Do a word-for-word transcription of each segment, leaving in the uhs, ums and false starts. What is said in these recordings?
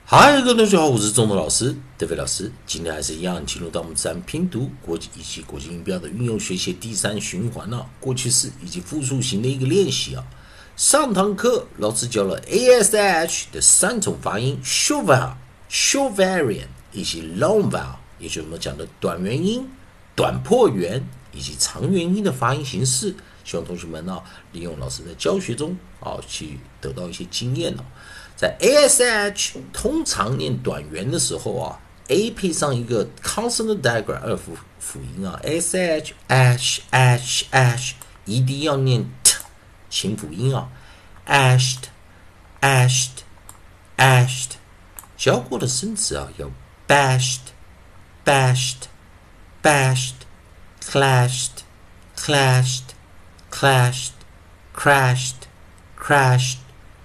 嗨，各位同学好，我是中德老师，德飞老师。今天还是一样，进入到我们自然拼读、国际以及国际音标的运用学习第三循环了、啊，过去式以及复数型的一个练习啊。上堂课老师教了 A S H 的三种发音 ：short vowel、short variant 以及 long vowel， 也就是我们讲的短元音、短破元以及长元音的发音形式。希望同学们呢、啊，利用老师在教学中啊，去得到一些经验哦、啊。在 A S H 通常念短元的时候啊 ，A 配上一个 consonant diagram 二辅辅音啊 ，S H H H H， 一定要念 t 清辅音啊 ，ashed ashed ashed， 教过的生词啊有 bashed bashed bashed clashed clashed clashed crashed crashed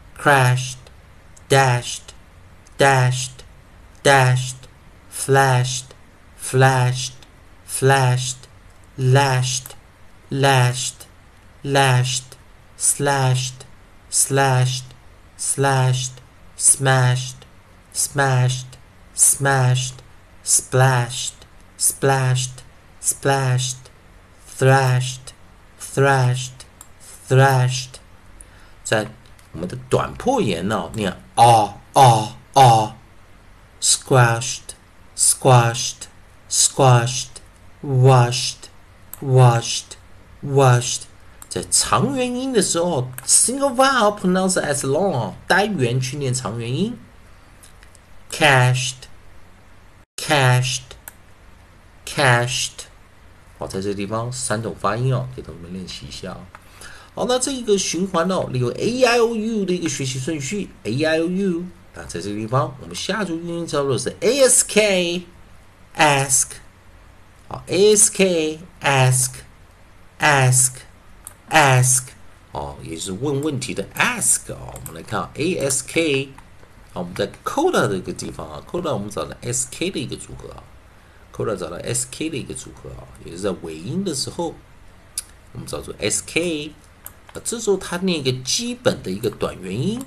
crashed。dashed, dashed, dashed, flashed, flashed, flashed, lashed, lashed, lashed, slashed, slashed, slashed, smashed, smashed, smashed, splashed, splashed, splashed, thrashed, thrashed, thrashed。在我们的短破言呢、哦，念啊啊啊 ，squashed, squashed, squashed, washed, washed, washed。在长元音的时候 ，single vowel pronounced as long 哦，单元去念长元音 ，cashed, cashed, cashed。好，在这个地方三种发音哦，给同学们练习一下哦。好，那这一个循环哦，利用 A I O U 的一个学习顺序 ，A I O U。那在这个地方，我们下组运用操作是 A S K ask， 好 ，A S K ask ask ask， 哦，也就是问问题的 ask 哦。我们来看 A S K， 好，我们在 coda 这个地方啊 ，coda 我们找到 S K 的一个组合啊 ，coda 找到 S K 的一个组合啊，也就是在尾音的时候，我们找出 S K。这时候它念一个基本的一个短元音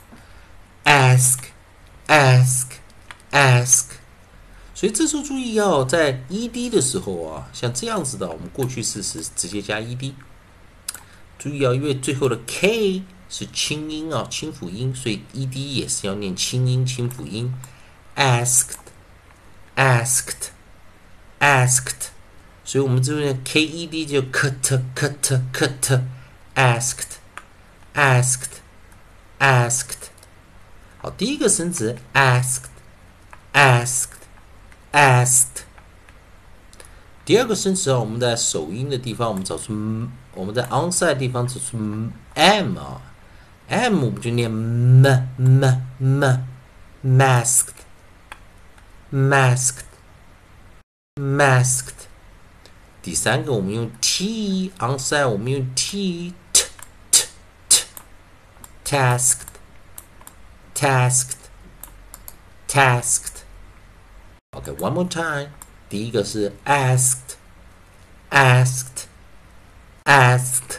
，ask ask ask， 所以这时候注意哦，在 ed 的时候啊，像这样子的，我们过去式是直接加 ed。注意哦，因为最后的 k 是清音啊，清辅音，所以 ed 也是要念清音清辅音 ，asked asked asked， 所以我们这边 ked 就 cut cut cut。asked, asked, asked。好，第一个生词 asked, asked, asked。第二个生词啊，我们在首音的地方，我们找出，我们在 onside 的地方找出 m 啊 ，m 我们就念 m m m masked, masked, masked。第三个我们用 t onside， 我们用 t。tasked, tasked, tasked. Okay, one more time. 第一个是 asked, asked, asked.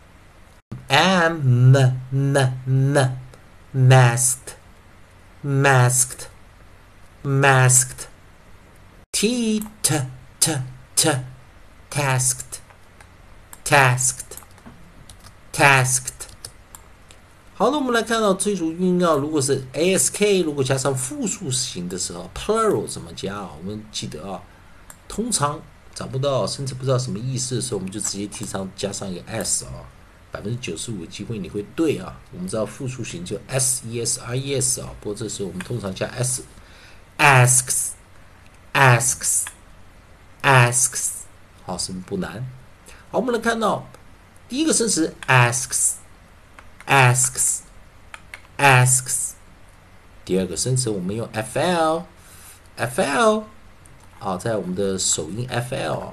M, m, m, masked, masked, masked. T, t, t, t, tasked, tasked, tasked.好的，我们来看到这组韵啊，如果是 A S K， 如果加上复数型的时候 ，plural 怎么加啊？我们记得啊，通常找不到甚至不知道什么意思的时候，我们就直接提上加上一个 s 啊，百分之九十五的机会你会对啊。我们知道复数型就 s e s i e s 啊，不过这时候我们通常加 s，asks asks asks， 好，是不是不难？好，我们来看到第一个生词 asks。asks asks， 第二个生词我们用 fl fl 啊，在我们的首音 fl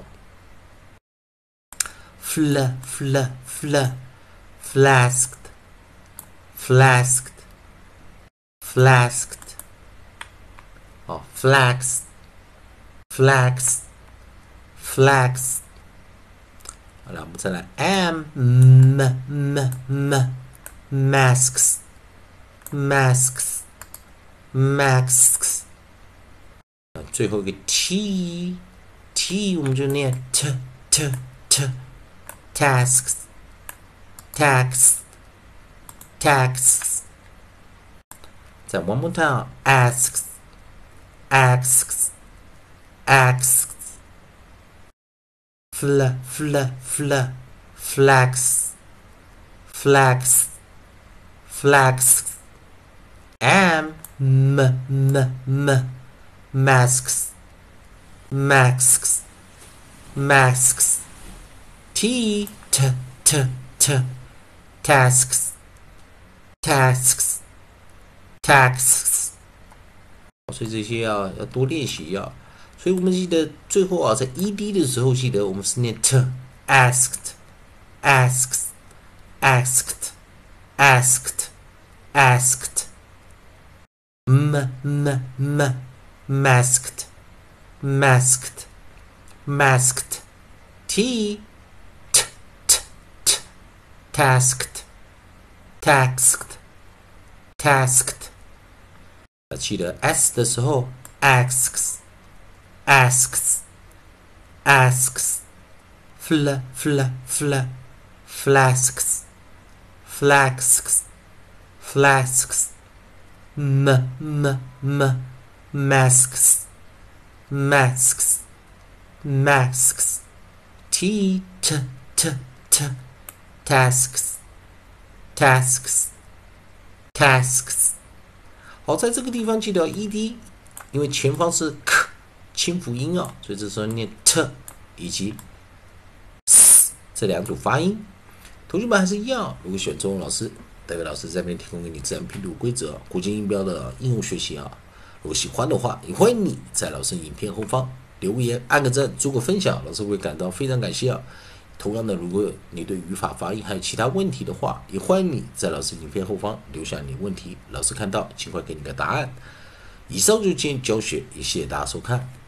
fl fl fl flasked flasked flasked 哦 flax flax flax。好了，我们再来 m m m m masks masks masks。最后一个 t t 我们就念 t t t tasks tax tax。再 one more time asks asks asks fl fl fl flags flags flags m m m m masks masks masks t t t t tasks tasks tasks。所以这些要要多练习啊。所以我们记得最后啊，在 ed 的时候，记得我们是念 t asked asked asked asked asked m m m masked masked masked t t t t tasked tasked tasked。记得 s 的时候 asks asks asks fl fl fl flasks flasks flasks m m m masks masks masks t t t t tasks tasks tasks。好，在这个地方记得 ed， 因为前方是 k 清辅音啊，所以这时候念 t 以及 s 这两组发音。同学们还是一样，如果喜欢中文老师，代表老师在这边提供给你自然拼读规则、国际音标的应用学习啊。如果喜欢的话，也欢迎你在老师影片后方留言、按个赞、做个分享，老师会感到非常感谢啊。同样的，如果你对语法、发音还有其他问题的话，也欢迎你在老师影片后方留下你问题，老师看到尽快给你个答案。以上就是今天教学，也谢谢大家收看。